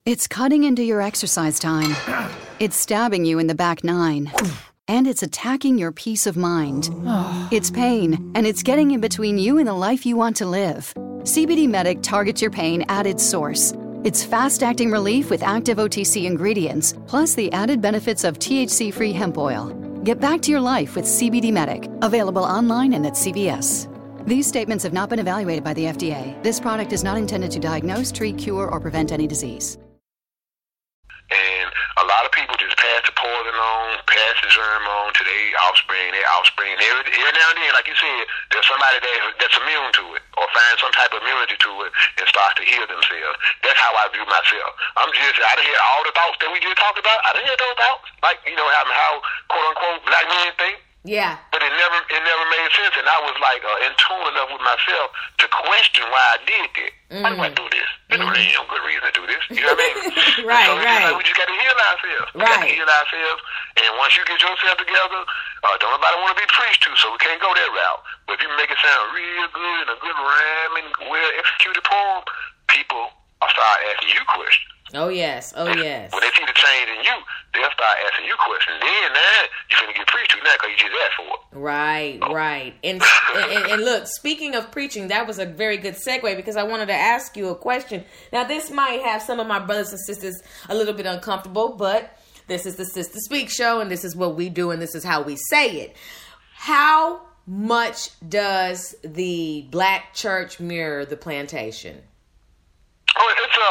It's cutting into your exercise time. It's stabbing you in the back nine. And it's attacking your peace of mind. It's pain, and it's getting in between you and the life you want to live. CBD Medic targets your pain at its source. It's fast-acting relief with active OTC ingredients, plus the added benefits of THC-free hemp oil. Get back to your life with CBD Medic, available online and at CVS. These statements have not been evaluated by the FDA. This product is not intended to diagnose, treat, cure, or prevent any disease. And a lot of people just pass the poison on, pass the germ on to their offspring. Every now and then, like you said, there's somebody that's immune to it or find some type of immunity to it and starts to heal themselves. That's how I view myself. I done hear all the thoughts that we just talked about. I done hear those thoughts. Like, how quote-unquote black men think. Yeah. But it never made sense, and I was like in tune enough with myself to question why I did that. Why do I do this? There's really no good reason to do this. You know what I mean? Right. Like, we just got to heal ourselves. We got to heal ourselves, and once you get yourself together, don't nobody want to be preached to, so we can't go that route. But if you make it sound real good and a good rhyme and well-executed poem, people will start asking you questions. Oh, yes. When they see the change in you, they'll start asking you questions. Then you're finna get preached to now because you just asked for it. Right. And look, speaking of preaching, that was a very good segue because I wanted to ask you a question. Now, this might have some of my brothers and sisters a little bit uncomfortable, but this is the Sister Speak show, and this is what we do, and this is how we say it. How much does the black church mirror the plantation? Oh,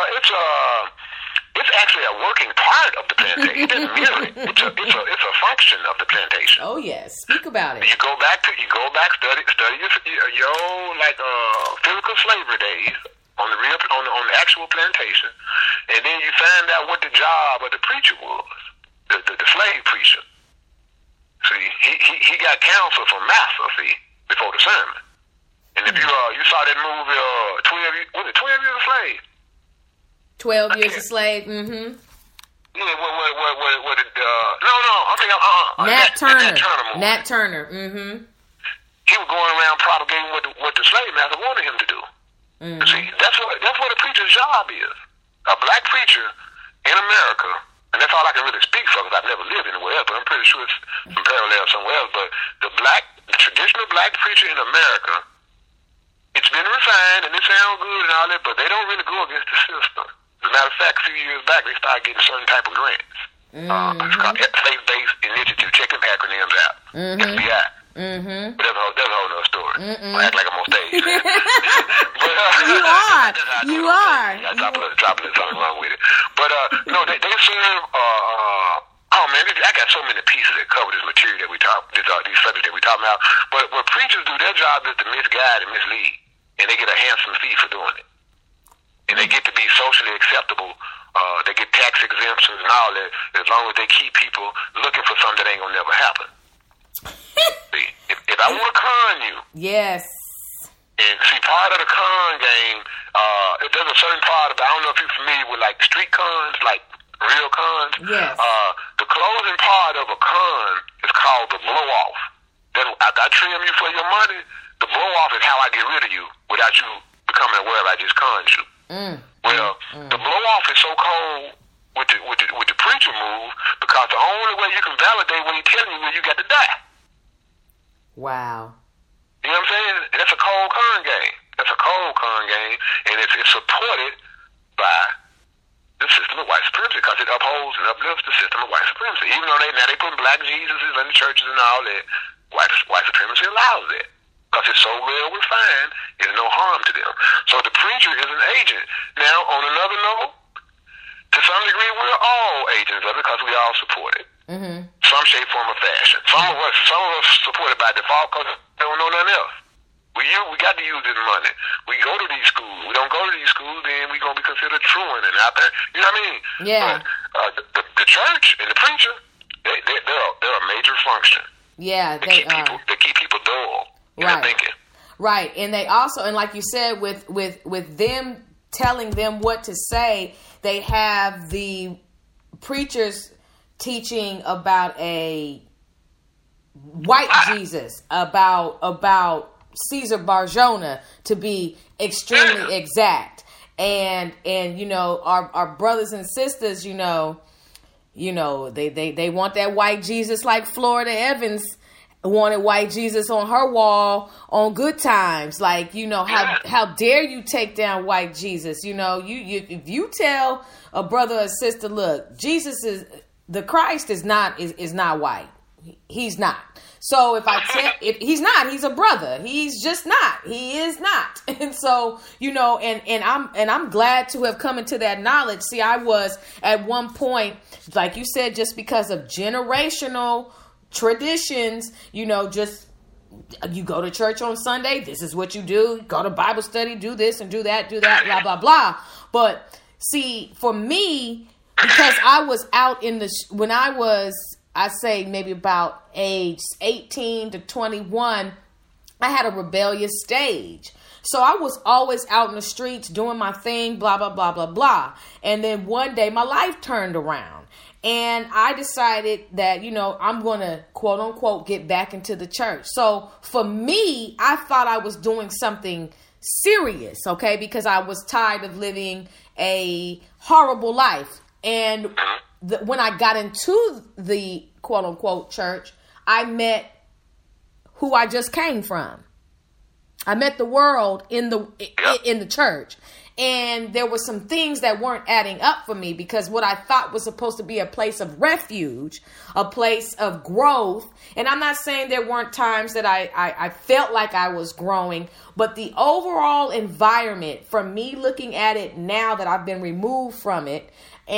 it's actually a working part of the plantation. It doesn't mirror it. It's a function of the plantation. Oh yes, speak about it. You go back, study your physical slavery days on the actual plantation, and then you find out what the job of the preacher was, the slave preacher. See, he got counsel from master. See, before the sermon. And if you saw that movie, 12 Years a Slave? 12 Years a Slave, mm-hmm. Yeah, what I'm thinking, Nat Turner. Movie. Nat Turner, mm-hmm. He was going around propagating what the slave master wanted him to do. Mm-hmm. See, that's what a preacher's job is. A black preacher in America, and that's all I can really speak for because I've never lived anywhere else, but I'm pretty sure it's some parallel somewhere else. But the traditional black preacher in America, it's been refined and it sounds good and all that, but they don't really go against the system. As a matter of fact, a few years back, they started getting certain type of grants. It's called Faith-Based Initiative. Check them acronyms out. FBI. But that's a whole other story. I act like I'm on stage. But, you are. I drop a little something wrong with it. But no, they serve. Oh man, I got so many pieces that cover this material that we talk, these subjects that we talk about. But what preachers do, their job is to misguide and mislead, and they get a handsome fee for doing it. And they get to be socially acceptable. They get tax exemptions and all that, as long as they keep people looking for something that ain't gonna never happen. See, if I want to con you, yes. And see, part of the con game, there's a certain part of it. I don't know if you're familiar with like street cons, like real cons. Yes. The closing part of a con is called the blow off. Then after I trim you for your money, the blow off is how I get rid of you without you becoming aware I just conned you. The blow off is so cold with the preacher move because the only way you can validate what he's telling you is you got to die. Wow. You know what I'm saying? And that's a cold con game. And it's supported by the system of white supremacy because it upholds and uplifts the system of white supremacy. Even though they put black Jesuses in the churches and all that, white supremacy allows that. Because it's so well refined, there's no harm to them. So the preacher is an agent. Now, on another note, to some degree, we're all agents of it because we all support it. Mm-hmm. Some shape, form, or fashion. Some of us support it by default because we don't know nothing else. We got to use this money. We go to these schools. We don't go to these schools, then we're going to be considered truant and out there. You know what I mean? Yeah. But the church and the preacher, they're a major function. Yeah, they keep people dull. Right. Right. And they also, and like you said, with them telling them what to say, they have the preachers teaching about a white Jesus, about Caesar Barjona, to be extremely exact. and you know, our brothers and sisters, you know, they want that white Jesus like Florida Evans wanted white Jesus on her wall on Good Times. Like, you know, how dare you take down white Jesus? You know, you if you tell a brother or sister, look, Jesus is the Christ is not white. He's not. So if he's not, he's a brother. He's just not. He is not. And so, you know, and I'm glad to have come into that knowledge. See, I was at one point, like you said, just because of generational traditions, you know, just you go to church on Sunday, this is what you do. Go to Bible study, do this and do that, blah, blah, blah. But see, for me, because I was out in when I was, I say maybe about age 18 to 21, I had a rebellious stage. So I was always out in the streets doing my thing, blah, blah, blah, blah, blah. And then one day my life turned around. And I decided that, you know, I'm going to, quote unquote, get back into the church. So for me, I thought I was doing something serious, okay, because I was tired of living a horrible life. And when I got into the, quote unquote, church, I met who I just came from. I met the world in the church. And there were some things that weren't adding up for me, because what I thought was supposed to be a place of refuge, a place of growth. And I'm not saying there weren't times that I felt like I was growing, but the overall environment, from me looking at it now that I've been removed from it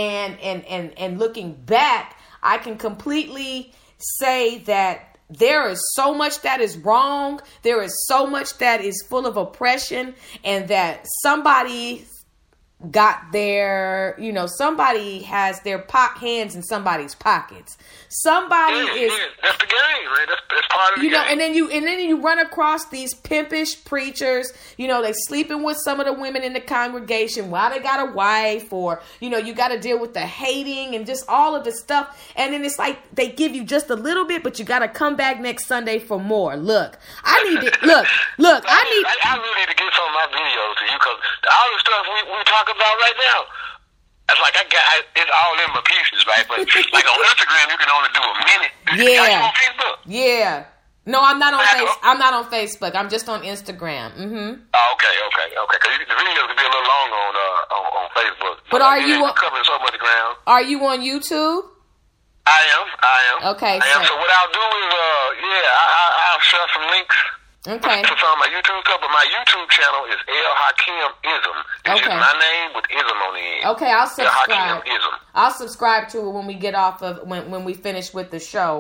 and looking back, I can completely say that there is so much that is wrong. There is so much that is full of oppression, and that somebody got their, you know, somebody has their hands in somebody's pockets. Somebody is. That's the game, man. That's part of the game. And then you run across these pimpish preachers. You know, they sleeping with some of the women in the congregation while they got a wife, or, you know, you got to deal with the hating and just all of the stuff. And then it's like they give you just a little bit, but you got to come back next Sunday for more. Look, I need to look. I really need to get some of my videos to you, because all the stuff we talk about right now, it's like it's all in my pieces, right? But like on Instagram, you can only do a minute. Yeah. Are you on Facebook? Yeah. No, I'm not on I'm not on Facebook. I'm just on Instagram. Mm-hmm. Oh, okay. Because the videos can be a little long on Facebook. But are you covering so much ground? Are you on YouTube? I am. Okay. So what I'll do is, I'll share some links. Okay. To some of my YouTube stuff, but my YouTube channel is El Hakim Ism. It's just my name with Ism on the end. Okay, I'll subscribe. El Hakim Ism. I'll subscribe to it when we get off of when we finish with the show.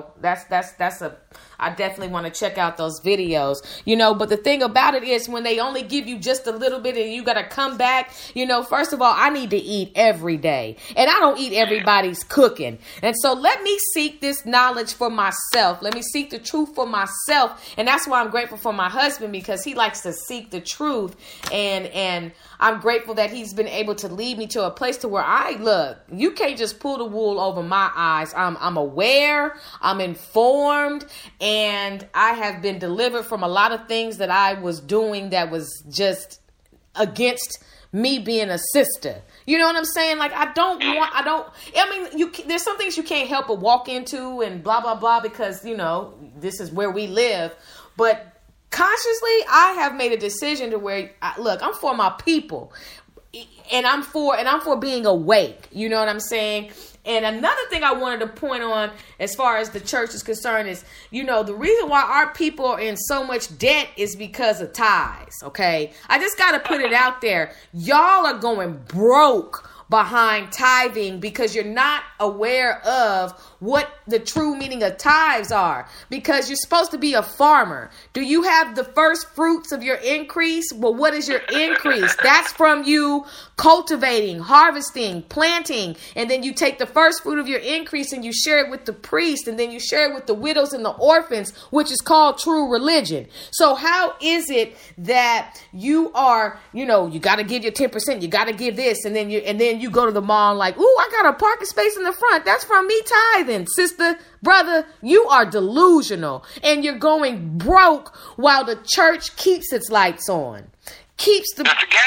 I definitely want to check out those videos, you know, but the thing about it is when they only give you just a little bit and you got to come back, you know, first of all, I need to eat every day, and I don't eat everybody's cooking. And so let me seek this knowledge for myself. Let me seek the truth for myself. And that's why I'm grateful for my husband, because he likes to seek the truth. And I'm grateful that he's been able to lead me to a place to where you can't just pull the wool over my eyes. I'm aware, I'm informed, and I have been delivered from a lot of things that I was doing that was just against me being a sister. You know what I'm saying? Like, there's some things you can't help but walk into and blah, blah, blah, because, you know, this is where we live. But consciously, I have made a decision to where, I'm for my people, and I'm for being awake. You know what I'm saying? And another thing I wanted to point on as far as the church is concerned is, you know, the reason why our people are in so much debt is because of tithes. Okay. I just got to put it out there. Y'all are going broke behind tithing because you're not aware of what the true meaning of tithes are, because you're supposed to be a farmer. Do you have the first fruits of your increase? Well, what is your increase? That's from you cultivating, harvesting, planting, and then you take the first fruit of your increase and you share it with the priest, and then you share it with the widows and the orphans, which is called true religion. So how is it that you are, you know, you got to give your 10%, you got to give this, and then you go to the mall and like, ooh, I got a parking space in the front. That's from me tithing. Sister, brother, you are delusional, and you're going broke while the church keeps its lights on. That's the game.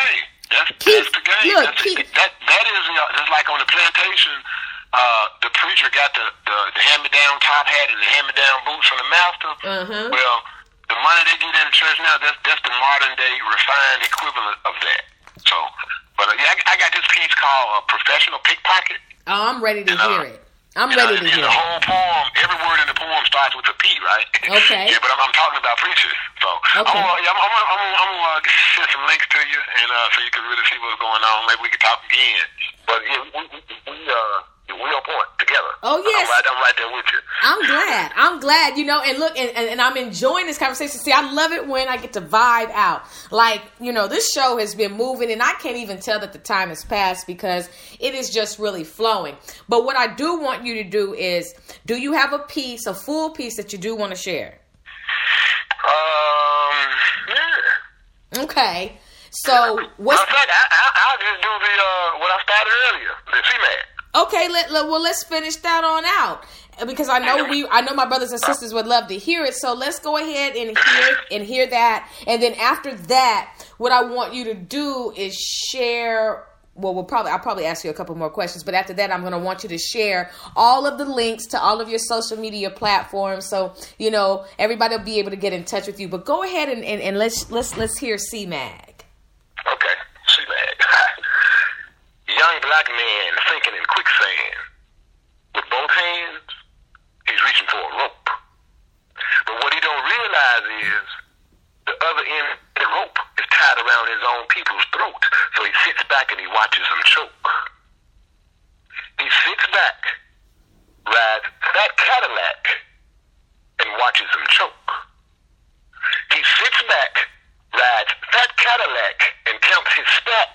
That's the game. Look, that is just like on the plantation. The preacher got the hand-me-down top hat and the hand-me-down boots from the master. Well, the money they get in the church now, that's the modern-day refined equivalent of that. So, but I got this piece called Professional Pickpocket. Oh, I'm ready to hear it. I'm ready to hear it. The whole poem, every word in the poem starts with a P, right? Okay. Yeah, but I'm talking about preachers. So okay. I'm gonna send some links to you, and so you can really see what's going on. Maybe we can talk again. But yeah, we on point together. Oh yes, I'm right there with you. I'm glad. You know, and look, and I'm enjoying this conversation. See, I love it when I get to vibe out. Like, you know, this show has been moving, and I can't even tell that the time has passed because it is just really flowing. But what I do want you to do is, do you have a full piece that you do want to share? Yeah. Okay. So what's? In fact, I'll just do what I started earlier, the CMAD. Okay, let's finish that on out because I know my brothers and sisters would love to hear it. So let's go ahead and hear that, and then after that, what I want you to do is share. Well, I'll probably ask you a couple more questions, but after that, I'm going to want you to share all of the links to all of your social media platforms, so you know everybody will be able to get in touch with you. But go ahead and let's hear CMAG. Okay, CMAG. Young black man sinking in quicksand. With both hands, he's reaching for a rope. But what he don't realize is the other end of the rope is tied around his own people's throat. So he sits back and he watches them choke. He sits back, rides fat Cadillac, and watches them choke. He sits back, rides fat Cadillac, and counts his stack,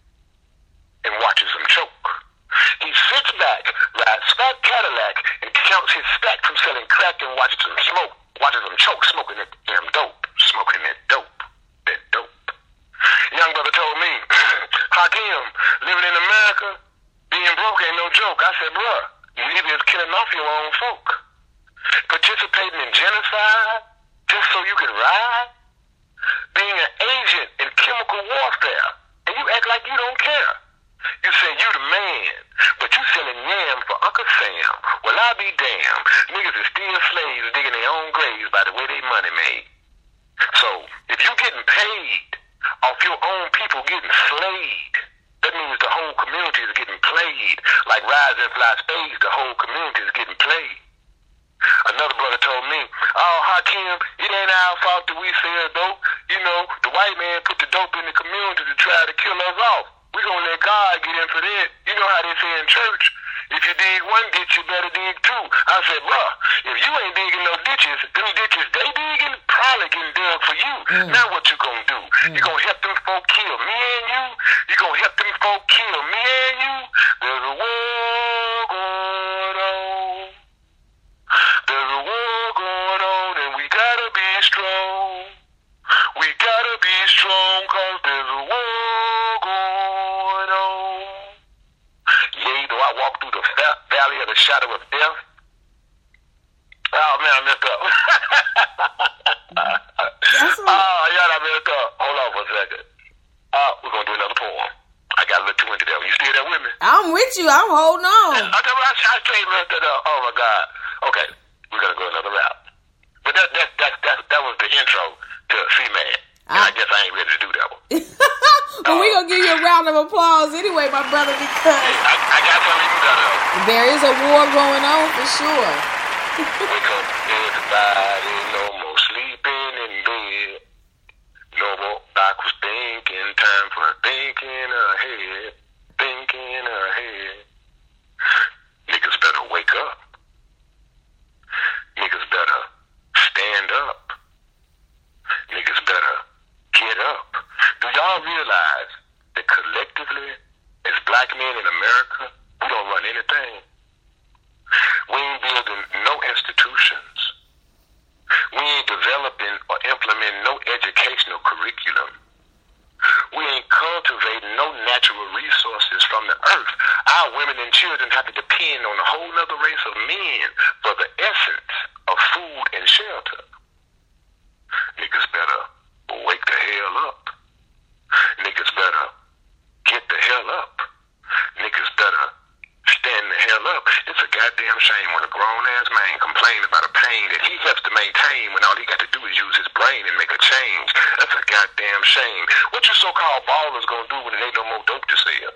and watches them choke. He sits back, rides fat Cadillac, and counts his stack from selling crack and watches them smoke. Watches them choke, smoking that damn dope. Smoking that dope. That dope. Young brother told me, Hakeem, living in America, being broke ain't no joke. I said, bruh, you either is killing off your own folk, participating in genocide just so you can ride, being an agent in chemical warfare, and you act like you don't care. You say you the man, but you selling yam for Uncle Sam. Well, I be damned. Niggas is still slaves digging their own graves by the way they money made. So, if you getting paid off your own people getting slayed, that means the whole community is getting played. Like Rise and Fly Spades, the whole community is getting played. Another brother told me, oh, Hakeem, it ain't our fault that we sell dope. You know, the white man put the dope in the community to try to kill us off. We gonna let God get in for that. You know how they say in church, if you dig one ditch, you better dig two. I said, bruh, if you ain't digging no ditches, them ditches they digging probably getting dug for you. Now what you gonna do? You gonna help them folk kill me and you? You gonna help them folk kill me and you? There's a war going on. There's a war going on, and we gotta be strong. We gotta be strong, cause there's a war going on. Yea, though I walk through the valley of the shadow of death. Oh, man, I messed up. I messed up. Hold on for a second. We're going to do another poem. I got a little too into that. You still there with me? I'm with you. I'm holding on. I straight messed it up. Oh, my God. Okay, we're going to go another route. But that was the intro to C-Man. I guess I ain't ready to do that one. Well, we're going to give you a round of applause anyway, my brother, because I got something even better. There is a war going on for sure. Wake up, everybody, no more sleeping in bed. No more backwards thinking, time for thinking ahead. Thinking ahead. Niggas better wake up. Niggas better stand up. Niggas better get up. Do y'all realize that collectively, as black men in America, we don't run anything? We ain't building no institutions. We ain't developing or implementing no educational curriculum. We ain't cultivating no natural resources from the earth. Our women and children have to depend on a whole other race of men for the essence of food and shelter. Niggas better wake the hell up. Niggas better hell up. Niggas better stand the hell up. It's a goddamn shame when a grown-ass man complains about a pain that he has to maintain when all he got to do is use his brain and make a change. That's a goddamn shame. What you so-called ballers gonna do when there ain't no more dope to sell?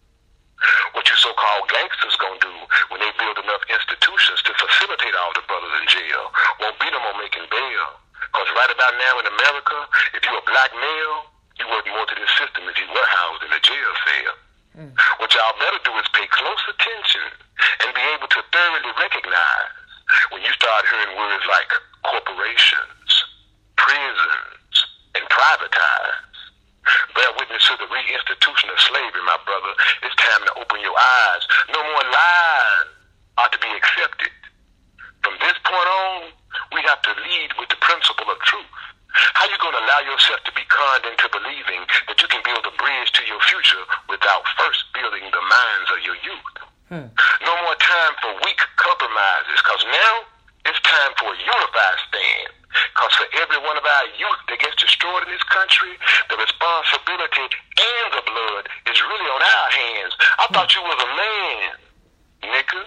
What you so-called gangsters gonna do when they build enough institutions to facilitate all the brothers in jail? Won't be no more making bail. Because right about now in America, if you're a black male, you work more to this system if you were housed in a jail cell. What y'all better do is pay close attention and be able to thoroughly recognize when you start hearing words like corporations, prisons, and privatize. Bear witness to the reinstitution of slavery, my brother. It's time to open your eyes. No more lies are to be accepted. From this point on, we have to lead with the principle of truth. How you going to allow yourself to be conned into believing that you can build a bridge to your future without first building the minds of your youth? No more time for weak compromises, because now it's time for a unified stand. Because for every one of our youth that gets destroyed in this country, the responsibility and the blood is really on our hands. I thought you was a man, nigga.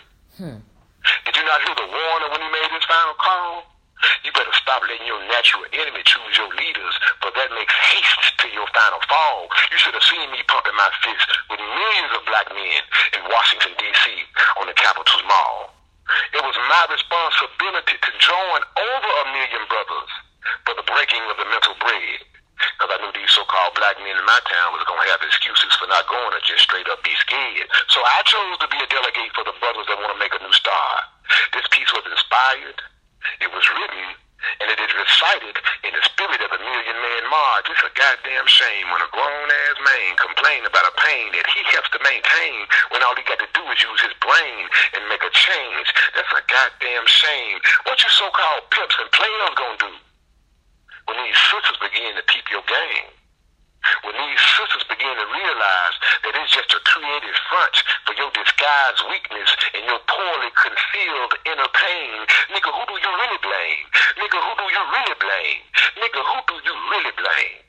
Did you not hear the warner when he made his final call? You better stop letting your natural enemy choose your leaders, for that makes haste to your final fall. You should have seen me pumping my fist with millions of black men in Washington, D.C. on the Capitol Mall. It was my responsibility to join over 1 million brothers for the breaking of the mental bread, because I knew these so-called black men in my town was going to have excuses for not going or just straight up be scared. So I chose to be a delegate for the brothers that want to make a new start. This piece was inspired. It was written, and it is recited in the spirit of the Million Man March. It's a goddamn shame when a grown-ass man complains about a pain that he helps to maintain when all he got to do is use his brain and make a change. That's a goddamn shame. What you so-called pimps and players gonna do when these sisters begin to peep your game? When these sisters begin to realize that it's just a creative front for your disguised weakness and your poorly concealed inner pain, nigga, who do you really blame? Nigga, who do you really blame? Nigga, who do you really blame?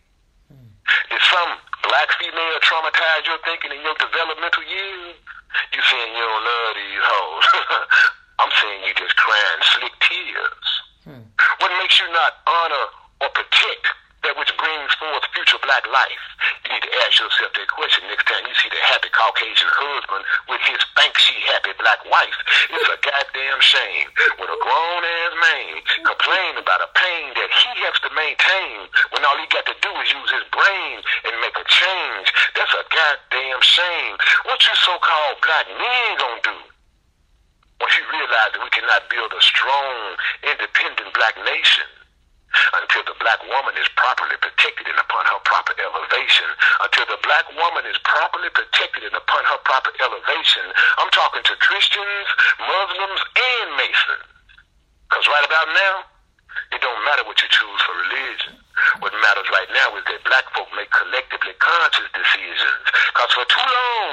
Did some black female traumatize your thinking in your developmental years? You saying you don't love these hoes. I'm saying you just crying slick tears. What makes you not honor or protect that which brings forth future black life? You need to ask yourself that question next time you see the happy Caucasian husband with his thank-she happy black wife. It's a goddamn shame when a grown-ass man complains about a pain that he has to maintain when all he got to do is use his brain and make a change. That's a goddamn shame. What you so-called black men gonna do once you realize that we cannot build a strong, independent black nation until the black woman is properly protected and upon her proper elevation? Until the black woman is properly protected and upon her proper elevation. I'm talking to Christians, Muslims, and Masons. Because right about now, it don't matter what you choose for religion. What matters right now is that black folk make collectively conscious decisions. Because for too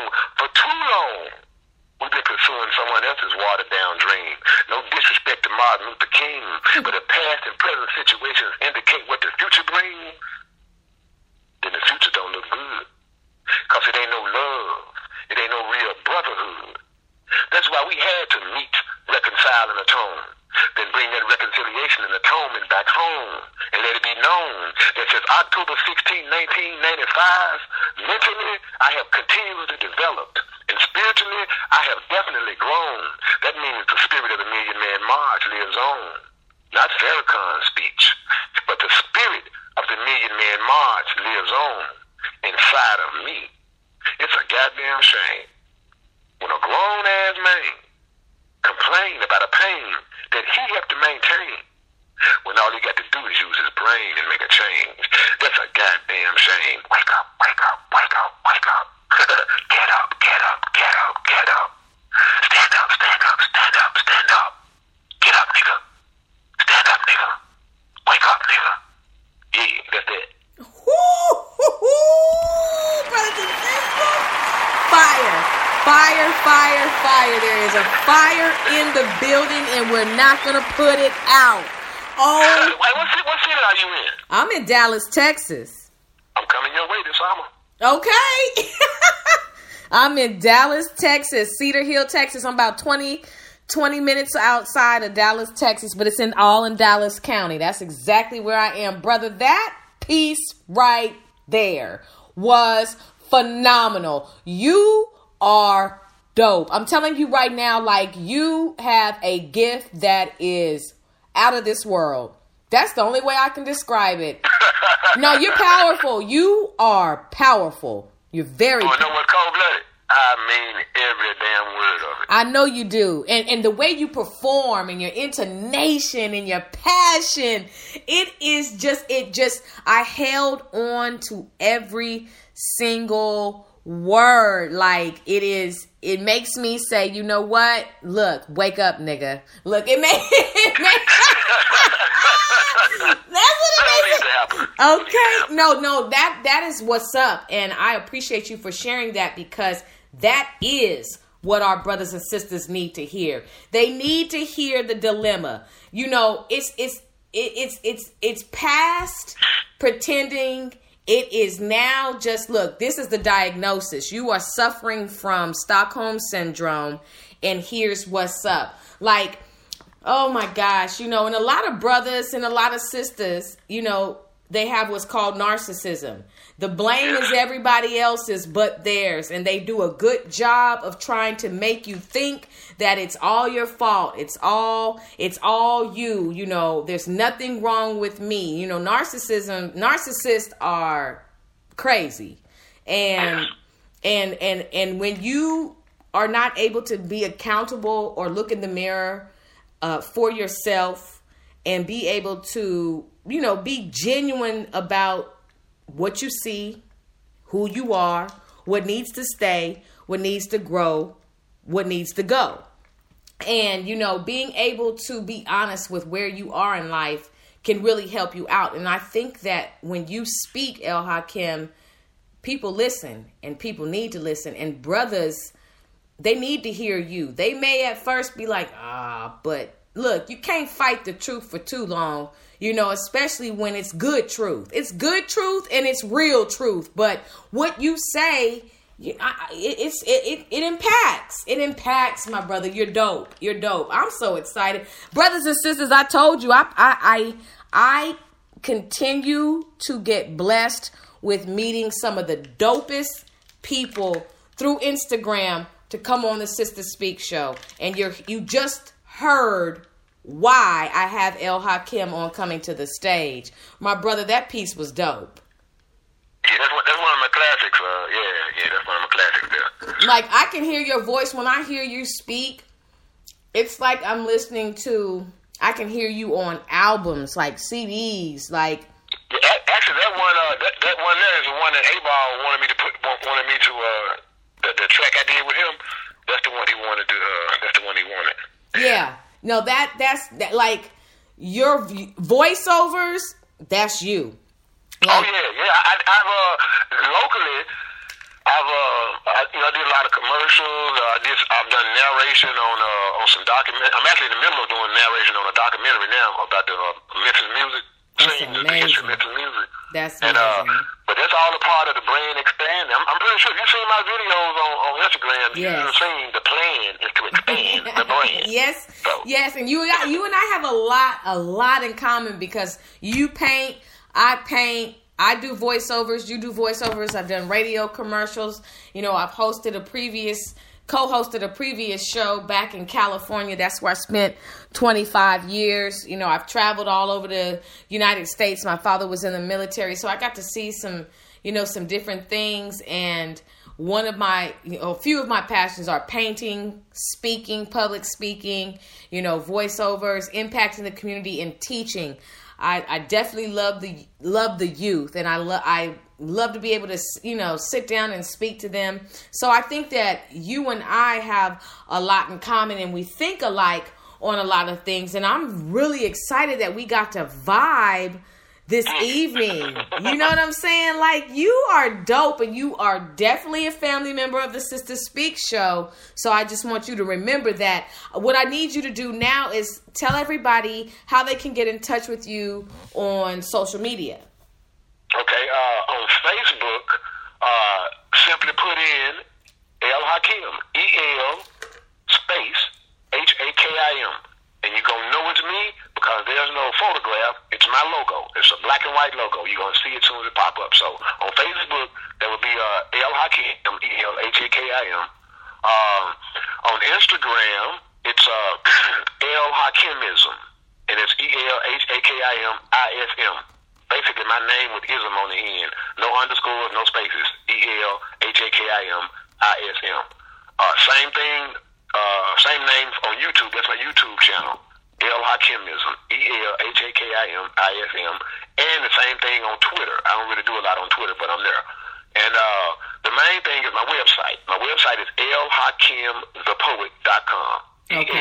long, we've been pursuing someone else's watered-down dream. No disrespect to Martin Luther King, but if past and present situations indicate what the future brings, then the future don't look good. Because it ain't no love. It ain't no real brotherhood. That's why we had to meet, reconcile, and atone. Then bring that reconciliation and atonement back home and let it be known that since October 16, 1995, mentally I have continually developed, and spiritually I have definitely grown. That means the spirit of the Million Man March lives on. Not Farrakhan's speech, but the spirit of the Million Man March lives on inside of me. It's a goddamn shame when a grown-ass man complain about a pain that he have to maintain when all he got to do is use his brain and make a change. That's a goddamn shame. Wake up, wake up, wake up, wake up. Get up, get up, get up, get up. Stand up, stand up, stand up, stand up. Get up, nigga. Stand up, nigga. Wake up, nigga. Yeah, that's it. Brothers and sisters, fire. Fire, fire, fire. There is a fire in the building and we're not going to put it out. Oh. Wait, what city are you in? I'm in Dallas, Texas. I'm coming your way this summer. Okay. I'm in Dallas, Texas, Cedar Hill, Texas. I'm about 20 minutes outside of Dallas, Texas, but it's all in Dallas County. That's exactly where I am, brother. That piece right there was phenomenal. You are dope. I'm telling you right now, like, you have a gift that is out of this world. That's the only way I can describe it. No, you're powerful. You are powerful. You're very powerful. You know what's cold-blooded? I mean every damn word of it. I know you do. And the way you perform and your intonation and your passion, I held on to every single word. Like, it makes me say, you know what? Look, wake up, nigga. Look, it makes that's what it makes. Okay. No, that is what's up. And I appreciate you for sharing that, because that is what our brothers and sisters need to hear. They need to hear the dilemma. You know, it's past pretending. It is now just, look, this is the diagnosis. You are suffering from Stockholm Syndrome, and here's what's up. Like, oh my gosh, you know, and a lot of brothers and a lot of sisters, you know, they have what's called narcissism. The blame is everybody else's but theirs, and they do a good job of trying to make you think that it's all your fault. It's all you, you know, there's nothing wrong with me. You know, narcissists are crazy. And when you are not able to be accountable or look in the mirror for yourself and be able to, you know, be genuine about what you see, who you are, what needs to stay, what needs to grow, what needs to go. And, you know, being able to be honest with where you are in life can really help you out. And I think that when you speak, El Hakim, people listen, and people need to listen. And brothers, they need to hear you. They may at first be like, but look, you can't fight the truth for too long. You know, especially when it's good truth. It's good truth and it's real truth. But what you say, it impacts. It impacts, my brother. You're dope. You're dope. I'm so excited. Brothers and sisters, I told you, I continue to get blessed with meeting some of the dopest people through Instagram to come on the Sister Speak show. And you just heard why I have El Hakim on coming to the stage. My brother, that piece was dope. Yeah, that's one of my classics. Yeah, that's one of my classics there. Like, I can hear your voice when I hear you speak. It's like I'm listening to, I can hear you on albums, like CDs, like. Yeah, actually, that one there is the one that A-Ball wanted me to the track I did with him. That's the one he wanted to. That's the one he wanted. Yeah. No, that's like your voiceovers. That's you. Like, oh yeah. I've locally, I did a lot of commercials. I've done narration on some document. I'm actually in the middle of doing narration on a documentary now about the Memphis music. That's amazing. Memphis music. That's amazing. But that's all a part of the brand expanding. I'm pretty sure if you've seen my videos on Instagram, you've seen the plan is to expand the brand. Yes, so. Yes, and you and I have a lot in common, because you paint, I paint, I do voiceovers, you do voiceovers. I've done radio commercials. You know, I've co-hosted a previous show back in California. That's where I spent 25 years. You know, I've traveled all over the United States. My father was in the military, so I got to see some different things. And a few of my passions are painting, speaking, public speaking, you know, voiceovers, impacting the community, and teaching. I definitely love the youth, and I love to be able to, you know, sit down and speak to them. So I think that you and I have a lot in common, and we think alike on a lot of things. And I'm really excited that we got to vibe this evening. You know what I'm saying? Like, you are dope, and you are definitely a family member of the Sister Speak show. So I just want you to remember that. What I need you to do now is tell everybody how they can get in touch with you on social media. Okay, on Facebook, simply put in El Hakim, EL space HAKIM. And you're going to know it's me because there's no photograph. It's my logo. It's a black and white logo. You're going to see it as soon as it pop up. So on Facebook, there will be El Hakim, EL HAKIM. On Instagram, it's El Hakimism. And it's ELHAKIMISM. Basically, my name with ism on the end. No underscores, no spaces. ELHAKIMISM. Same thing, same name on YouTube. That's my YouTube channel. El Hakimism. ELHAKIMISM. And the same thing on Twitter. I don't really do a lot on Twitter, but I'm there. And the main thing is my website. My website is elhakimthepoet.com. Okay.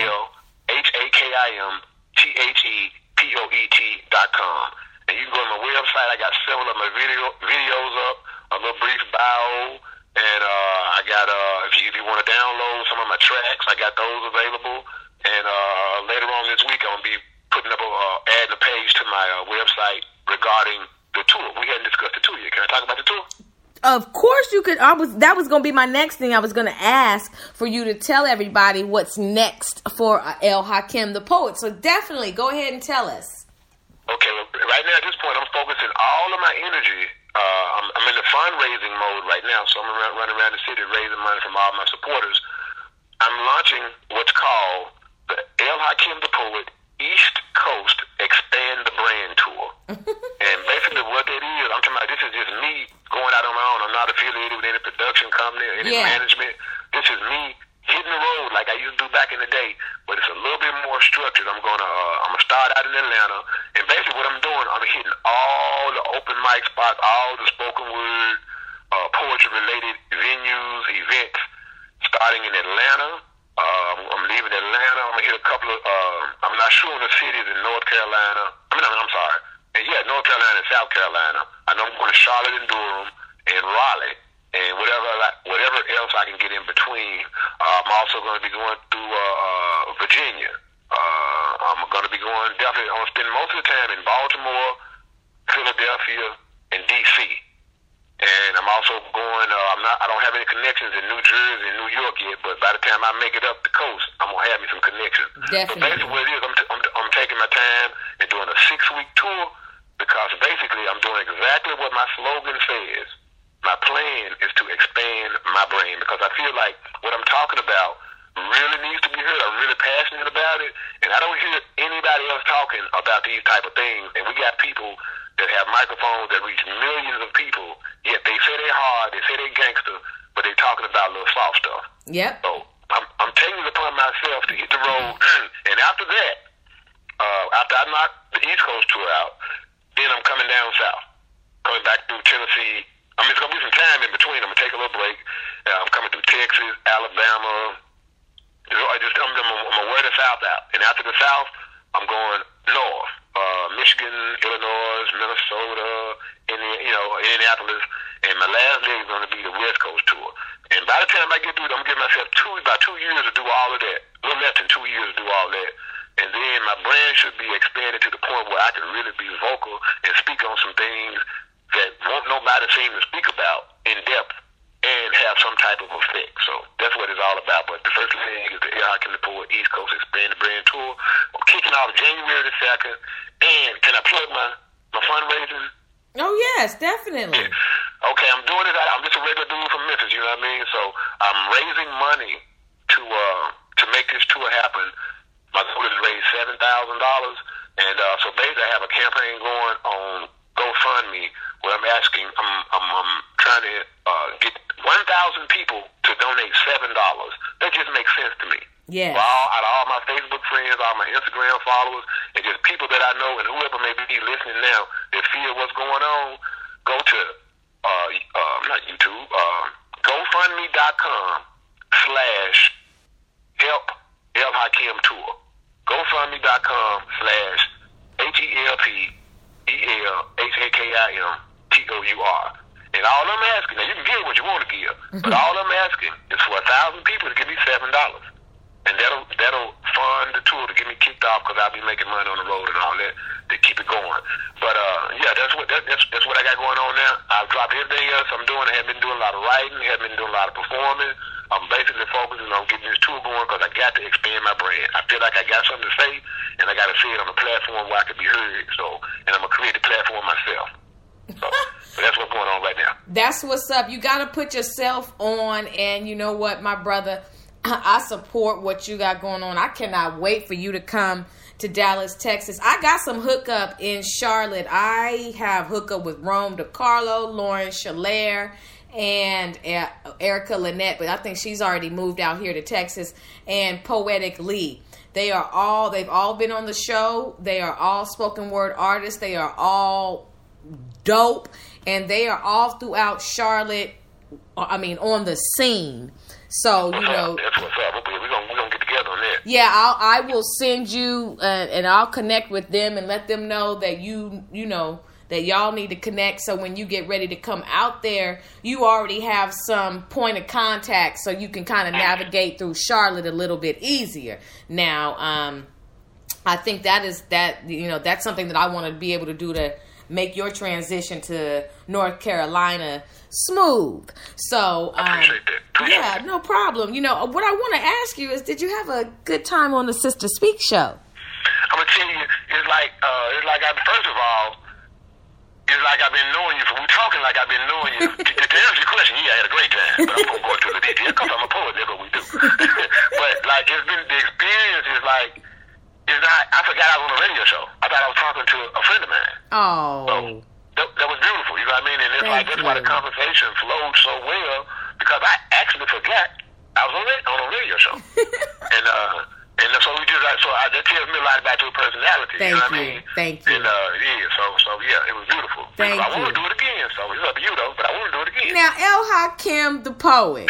ELHAKIMTHEPOET.com. And you can go to my website. I got several of my videos up, a little brief bio, and I got if you want to download some of my tracks, I got those available. And later on this week, I'm gonna be putting up adding a page to my website regarding the tour. We hadn't discussed the tour yet. Can I talk about the tour? Of course you could. That was going to be my next thing. I was going to ask for you to tell everybody what's next for El Hakim the Poet. So definitely go ahead and tell us. Okay, well, right now at this point, I'm focusing all of my energy. I'm in the fundraising mode right now, so I'm running around the city raising money from all my supporters. I'm launching what's called the El Hakim the Poet East Coast Expand the Brand Tour. And basically what that is, I'm talking about, this is just me going out on my own. I'm not affiliated with any production company or any management. This is me hitting the road like I used to do back in the day, but it's a little bit more structured. I'm gonna start out in Atlanta, and basically what I'm doing, I'm hitting all the open mic spots, all the spoken word, poetry related venues, events, starting in Atlanta. I'm leaving Atlanta. I'm gonna hit a couple of. I'm not sure in the cities in North Carolina. I'm sorry. North Carolina and South Carolina. I know I'm going to Charlotte and Durham and Raleigh and whatever else I can get in between. I'm also going to be going through Virginia. I'm going to be going definitely. I'm going to spend most of the time in Baltimore, Philadelphia, and DC. And I'm also going. I don't have any connections in New Jersey and New York yet. But by the time I make it up the coast, I'm gonna have me some connections. Definitely. But basically, what it is, I'm taking my time and doing a 6-week tour because basically I'm doing exactly what my slogan says. My plan is to expand my brain because I feel like what I'm talking about really needs to be heard. I'm really passionate about it, and I don't hear anybody else talking about these type of things. And we got people that have microphones that reach millions of people, yet they say they're hard, they say they're gangster, but they're talking about little soft stuff. Yep. So I'm taking it upon myself to hit the road, and after that, after I knock the East Coast tour out, then I'm coming down south, coming back through Tennessee. It's going to be some time in between. I'm going to take a little break. I'm coming through Texas, Alabama. I'm going to wear the South out. And after the South, I'm going north. Michigan, Illinois, Minnesota, Indianapolis. And my last leg is going to be the West Coast tour. And by the time I get through it, I'm going to give myself about 2 years to do all of that. A little less than 2 years to do all that. And then my brand should be expanded to the point where I can really be vocal and speak on some things that won't nobody seem to speak about in depth and have some type of effect. So that's what it's all about. But the first thing is the El Hakim the Poet East Coast Expand the Brand Tour. I'm kicking off January the 2nd. And can I plug my fundraising? Oh, yes, definitely. Yeah. Okay, I'm doing it. I'm just a regular dude from Memphis, you know what I mean? So I'm raising money to make this tour happen. My goal is to raise $7,000. And so basically I have a campaign going on GoFundMe where I'm trying to get 1,000 people to donate $7. That just makes sense to me. Yeah. Out of all my Facebook friends, all my Instagram followers, and just people that I know and whoever may be listening now that feel what's going on, go to not YouTube, GoFundMe.com/help El Hakim Tour. GoFundMe.com/HELPELHAKIMTOUR. And all I'm asking, now you can give what you want to give, but all I'm asking is for 1,000 people to give me $7. And that'll fund the tour to get me kicked off because I'll be making money on the road and all that to keep it going. But that's what I got going on now. I've dropped everything else I'm doing. I haven't been doing a lot of writing, haven't been doing a lot of performing. I'm basically focusing on getting this tour going because I got to expand my brand. I feel like I got something to say, and I got to say it on a platform where I can be heard. So, and I'm going to create the platform myself. So that's what's going on right now. That's what's up. You got to put yourself on, and you know what, my brother, I support what you got going on. I cannot wait for you to come to Dallas, Texas. I got some hookup in Charlotte. I have hookup with Rome DiCarlo, Lauren Shalair, and Erica Lynette, but I think she's already moved out here to Texas, and Poetic Lee. They've all been on the show. They are all spoken word artists. They are all dope, and they are all throughout Charlotte, on the scene. So, you know, that's what's up. We're gonna get together on that. Yeah, I will send you and I'll connect with them and let them know that you know that y'all need to connect. So when you get ready to come out there, you already have some point of contact, so you can kind of navigate through Charlotte a little bit easier. Now, I think that's something that I want to be able to do to make your transition to North Carolina smooth. So, yeah, no problem. You know, what I want to ask you is, did you have a good time on the Sister Speak show? I'm gonna tell you, it's like first of all, it's like I've been knowing you. We're talking like I've been knowing you. To answer your question, yeah, I had a great time, but I'm gonna go into the details because I'm a poet. That's what we do. But like, it's been the experience is like. It's not. I forgot I was on a radio show. I thought I was talking to a friend of mine. Oh. So that was beautiful. You know what I mean? And it's like that's why the conversation flowed so well because I actually forgot I was on a radio show. and so we just that tells me a lot about your personality. Thank you know what you. I mean? Thank you. And so yeah, it was beautiful. Thank you. I want to do it again. So it's up to you though, but I want to do it again. Now, El Hakim the poet.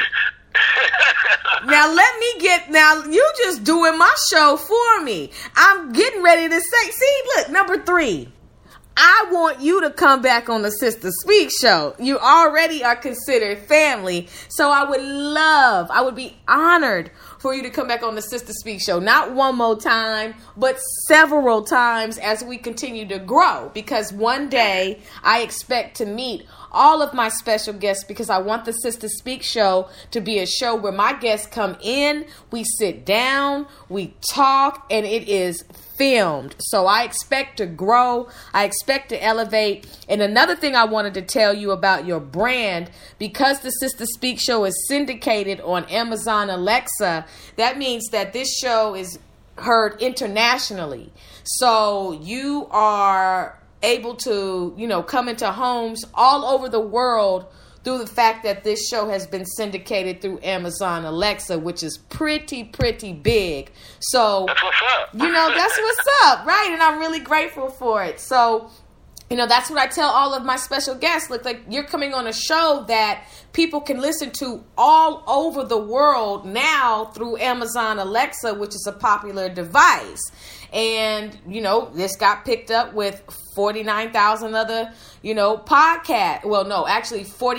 Now you just doing my show for me. I'm getting ready to say, see, look, number 3. I want you to come back on the Sister Speak show. You already are considered family. So I would be honored for you to come back on the Sister Speak show. Not one more time, but several times as we continue to grow. Because one day I expect to meet all of my special guests, because I want the Sister Speak show to be a show where my guests come in, we sit down, we talk, and it is filmed. So I expect to grow. I expect to elevate. And another thing I wanted to tell you about your brand, because the Sister Speak show is syndicated on Amazon Alexa, that means that this show is heard internationally. So you are able to, come into homes all over the world through the fact that this show has been syndicated through Amazon Alexa, which is pretty big. So, that's what's up. That's what's up, right? And I'm really grateful for it. So, that's what I tell all of my special guests. Look, like, you're coming on a show that people can listen to all over the world now through Amazon Alexa, which is a popular device. And, this got picked up with 49,000 other, podcasts. Well, no, actually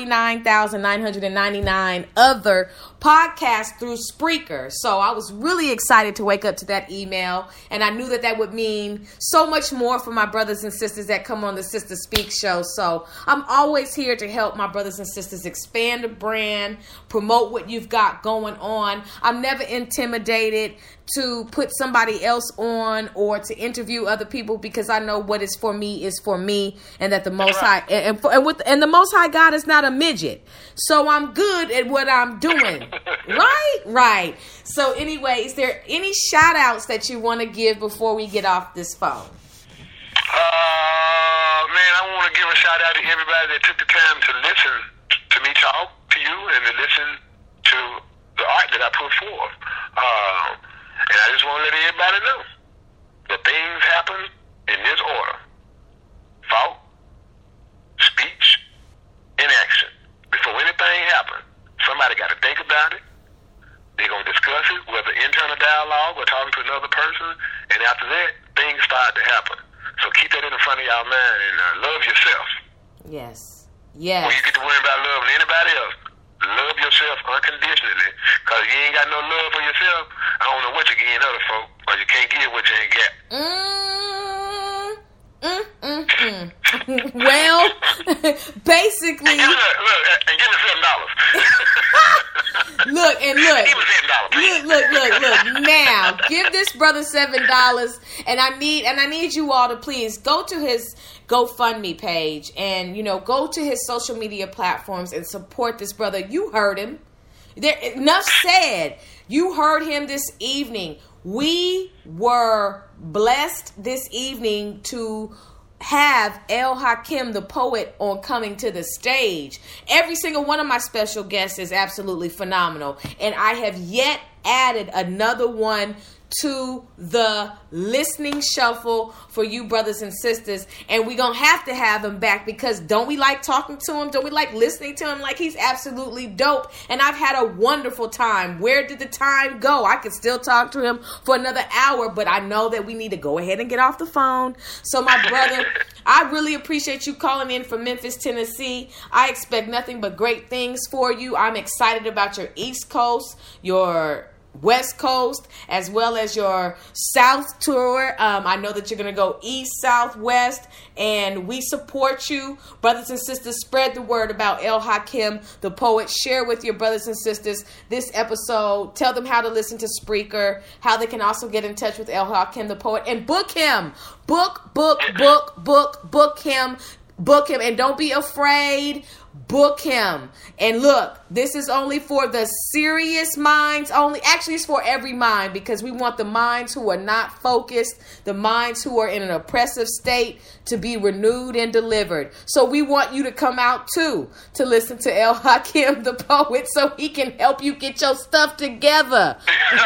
49,999 other podcasts through Spreaker. So I was really excited to wake up to that email. And I knew that would mean so much more for my brothers and sisters that come on the Sister Speak show. So I'm always here to help my brothers and sisters expand the brand, promote what you've got going on. I'm never intimidated to put somebody else on or to interview other people, because I know what is for me is for me, and that the Most High and the Most High God is not a midget. So I'm good at what I'm doing. Right. So anyway, is there any shout outs that you want to give before we get off this phone? Man, I want to give a shout out to everybody that took the time to listen to me talk to you and to listen to the art that I put forth. And I just want to let everybody know that things happen in this order: thought, speech, and action. Before anything happens, somebody got to think about it. They're going to discuss it, whether internal dialogue or talking to another person. And after that, things start to happen. So keep that in the front of y'all mind and love yourself. Yes. When you get to worry about loving anybody else, love yourself unconditionally. Because you ain't got no love for yourself, I don't know what you're getting other folk, or you can't give what you ain't got. Well, basically. And give me $7. look. Give him $7, please. Look. Now, give this brother $7, and I need you all to please go to his GoFundMe page and, go to his social media platforms and support this brother. You heard him. Enough said. You heard him this evening. We were blessed this evening to have El Hakim the poet on coming to the stage. Every single one of my special guests is absolutely phenomenal, and I have yet added another one to the listening shuffle for you brothers and sisters, and we're gonna have to have him back because don't we like talking to him? Don't we like listening to him? Like, he's absolutely dope, and I've had a wonderful time. Where did the time go? I could still talk to him for another hour, but I know that we need to go ahead and get off the phone. So my brother, I really appreciate you calling in from Memphis, Tennessee. I expect nothing but great things for you. I'm excited about your East Coast, your West Coast, as well as your South tour. I know that you're going to go East, South, West, and we support you. Brothers and sisters, spread the word about El Hakim, the poet. Share with your brothers and sisters this episode. Tell them how to listen to Spreaker, how they can also get in touch with El Hakim, the poet, and book him. Book him. Book him, and don't be afraid. Book him. And look, this is only for the serious minds only. Actually, it's for every mind, because we want the minds who are not focused, the minds who are in an oppressive state, to be renewed and delivered. So we want you to come out too to listen to El Hakim the poet, so he can help you get your stuff together.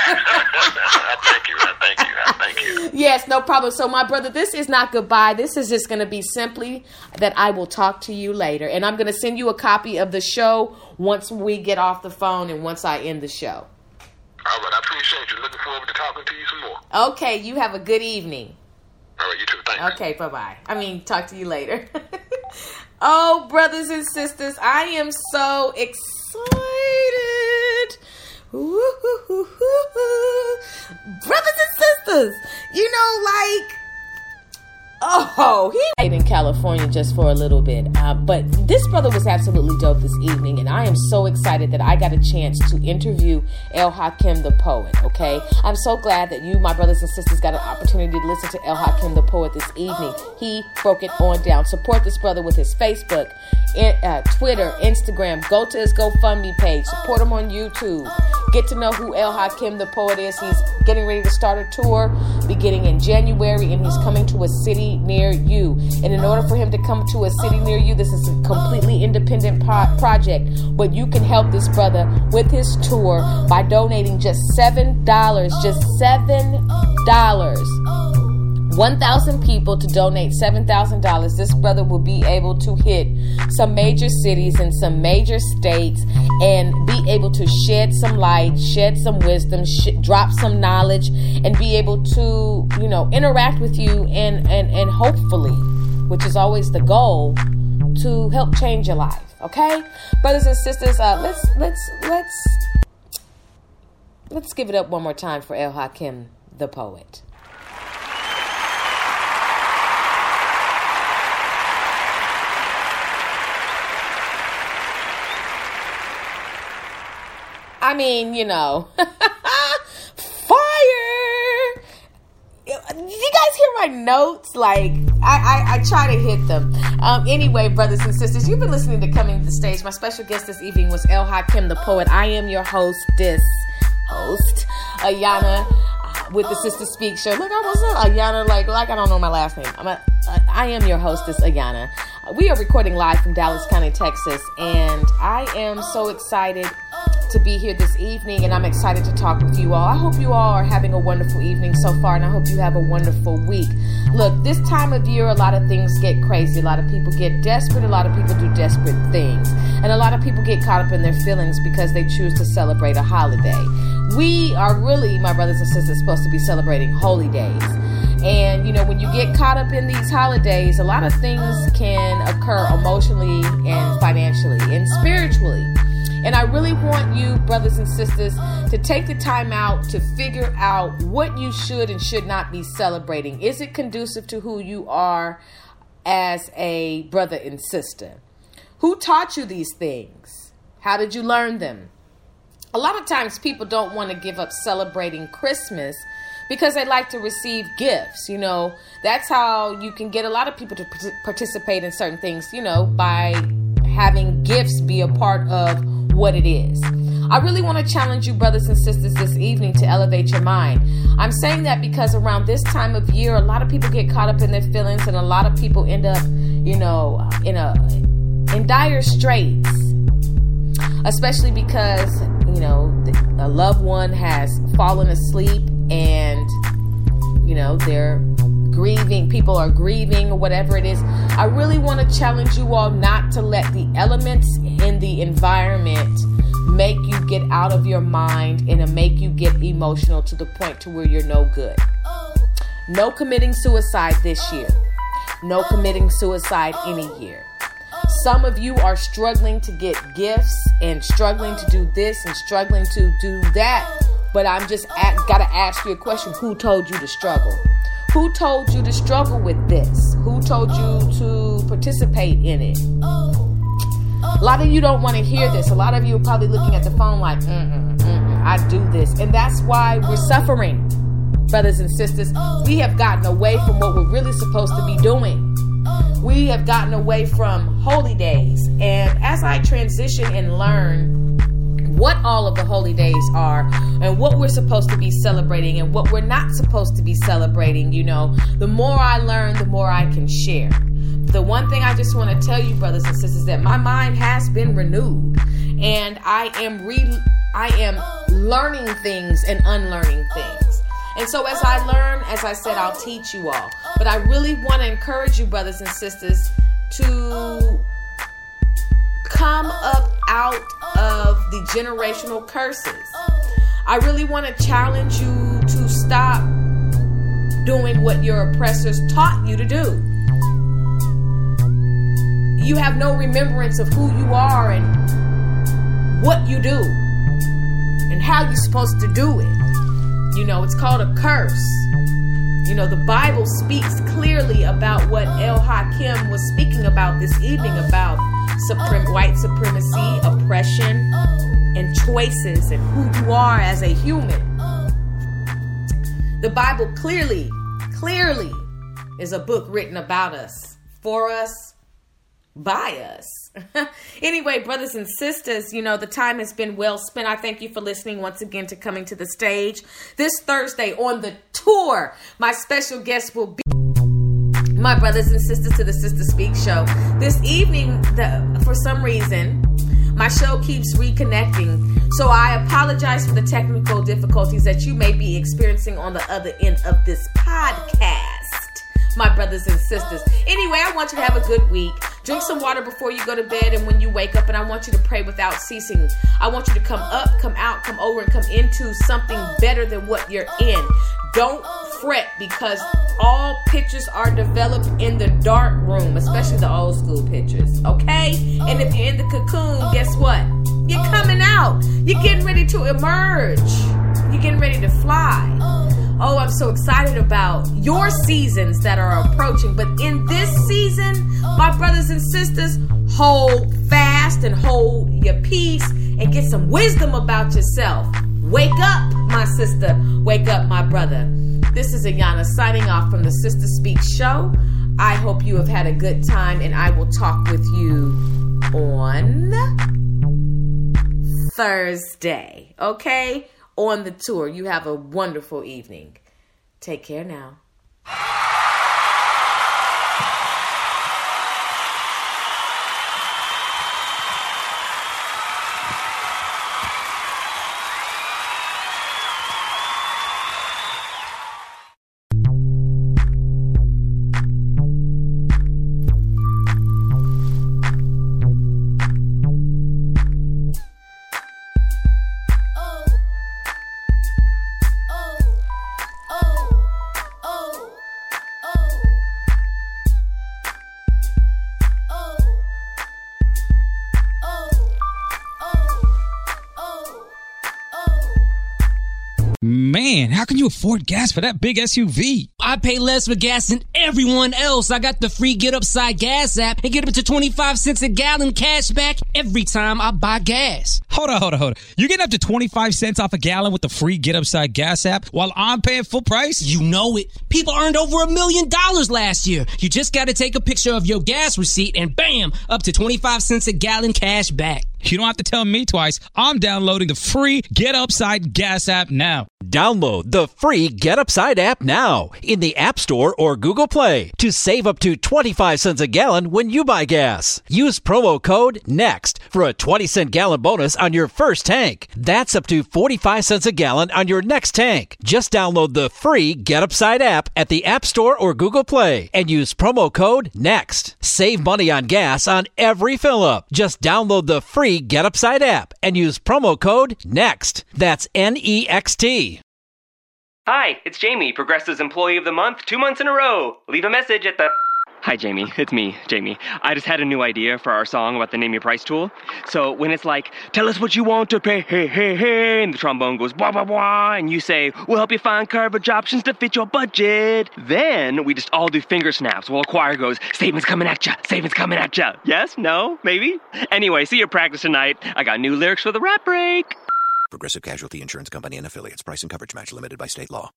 Thank you. Yes, no problem. So my brother, this is not goodbye. This is just going to be simply that I will talk to you later. And I'm going to send you a copy of the show once we get off the phone and once I end the show. All right, I appreciate you. Looking forward to talking to you some more. Okay, you have a good evening. All right, you too. Thanks. Okay, bye-bye. Talk to you later. Oh, brothers and sisters, I am so excited. Woo-hoo-hoo-hoo-hoo. Brothers and sisters, he in California just for a little bit, but this brother was absolutely dope this evening, and I am so excited that I got a chance to interview El Hakim the poet. Okay, I'm so glad that you, my brothers and sisters, got an opportunity to listen to El Hakim the poet this evening. He broke it on down. Support this brother with his Facebook, Twitter, Instagram. Go to his GoFundMe page. Support him on YouTube. Get to know who El Hakim the poet is. He's getting ready to start a tour beginning in January, and he's coming to a city near you. And in order for him to come to a city near you, this is a completely independent project, but you can help this brother with his tour by donating just $7. Just $7. 1,000 people to donate $7,000. This brother will be able to hit some major cities and some major states and be able to shed some light, shed some wisdom, drop some knowledge, and be able to, interact with you and hopefully, which is always the goal, to help change your life. Okay, brothers and sisters, let's give it up one more time for El Hakim the poet. Fire! You guys hear my notes? I try to hit them. Anyway, brothers and sisters, you've been listening to Coming to the Stage. My special guest this evening was El Hakim the poet. I am your host, Ayana, with the Sister Speak Show. Look, I almost said Ayana, like I don't know my last name. I am your hostess, Ayana. We are recording live from Dallas County, Texas, and I am so excited to be here this evening, and I'm excited to talk with you all. I hope you all are having a wonderful evening so far, and I hope you have a wonderful week. Look, this time of year, a lot of things get crazy. A lot of people get desperate. A lot of people do desperate things. And a lot of people get caught up in their feelings because they choose to celebrate a holiday. We are really, my brothers and sisters, supposed to be celebrating holy days. And, when you get caught up in these holidays, a lot of things can occur emotionally and financially and spiritually. And I really want you, brothers and sisters, to take the time out to figure out what you should and should not be celebrating. Is it conducive to who you are as a brother and sister? Who taught you these things? How did you learn them? a lot of times people don't want to give up celebrating Christmas because they like to receive gifts. You know, that's how you can get a lot of people to participate in certain things, you know, by having gifts be a part of what it is. I really want to challenge you, brothers and sisters, this evening to elevate your mind. I'm saying that because around this time of year, a lot of people get caught up in their feelings, and a lot of people end up, you know, in dire straits, especially because, you know, a loved one has fallen asleep and, you know, they're grieving, people are grieving or whatever it is. I really want to challenge you all not to let the elements in the environment make you get out of your mind and make you get emotional to the point to where you're no good. No committing suicide this year. No committing suicide any year. Some of you are struggling to get gifts and struggling to do this and struggling to do that. But I'm just gotta ask you a question. Who told you to struggle? Who told you to struggle with this? Who told you to participate in it? A lot of you don't want to hear this. A lot of you are probably looking at the phone like, I do this. And that's why we're suffering, brothers and sisters. We have gotten away from what we're really supposed to be doing. We have gotten away from holy days. And as I transition and learn what all of the holy days are and what we're supposed to be celebrating and what we're not supposed to be celebrating, you know, the more I learn, the more I can share. The one thing I just want to tell you, brothers and sisters, that my mind has been renewed, and I am learning things and unlearning things. And so as I learn, as I said, I'll teach you all. But I really want to encourage you, brothers and sisters, to come up out of the generational curses. I really want to challenge you to stop doing what your oppressors taught you to do. You have no remembrance of who you are and what you do and how you're supposed to do it. You know, it's called a curse. You know, the Bible speaks clearly about what El Hakim was speaking about this evening, about white supremacy, oppression, and choices, and who you are as a human. The Bible clearly is a book written about us, for us, by us. Anyway, brothers and sisters, you know, the time has been well spent. I thank you for listening once again to Coming to the Stage. This Thursday on the tour, my special guest will be my brothers and sisters to the Sister Speak show. This evening, for some reason, my show keeps reconnecting. So I apologize for the technical difficulties that you may be experiencing on the other end of this podcast, my brothers and sisters. Anyway, I want you to have a good week. Drink some water before you go to bed and when you wake up, and I want you to pray without ceasing. I want you to come up, come out, come over, and come into something better than what you're in. Don't fret, because all pictures are developed in the dark room, especially the old school pictures, okay? And if you're in the cocoon, guess what? You're coming out. You're getting ready to emerge. You're getting ready to fly. Oh, I'm so excited about your seasons that are approaching. But in this season, my brothers and sisters, hold fast and hold your peace and get some wisdom about yourself. Wake up, my sister. Wake up, my brother. This is Ayana signing off from the Sister Speak show. I hope you have had a good time, and I will talk with you on Thursday, okay? On the tour. You have a wonderful evening. Take care now. Oh. Man, how can you afford gas for that big SUV? I pay less for gas than everyone else. I got the free Get Upside Gas app and get up to 25 cents a gallon cash back every time I buy gas. Hold on. You're getting up to 25 cents off a gallon with the free Get Upside Gas app while I'm paying full price? You know it. People earned over $1 million last year. You just got to take a picture of your gas receipt and bam, up to 25 cents a gallon cash back. You don't have to tell me twice. I'm downloading the free Get Upside Gas app now. Download the free Get Upside app now in the App Store or Google Play to save up to 25 cents a gallon when you buy gas. Use promo code NEXT for a 20-cent gallon bonus on your first tank. That's up to 45 cents a gallon on your next tank. Just download the free Get Upside app at the App Store or Google Play and use promo code NEXT. Save money on gas on every fill-up. Just download the free Get Upside app and use promo code NEXT. That's NEXT. Hi, it's Jamie, Progressive's Employee of the Month, 2 months in a row. Leave a message at the... Hi, Jamie. It's me, Jamie. I just had a new idea for our song about the Name Your Price tool. So when it's like, tell us what you want to pay, hey, hey, hey, and the trombone goes, blah, blah, blah, and you say, we'll help you find coverage options to fit your budget. Then we just all do finger snaps while a choir goes, statements coming at ya, statements coming at ya. Yes? No? Maybe? Anyway, see your practice tonight. I got new lyrics for the rap break. Progressive Casualty Insurance Company and Affiliates. Price and coverage match limited by state law.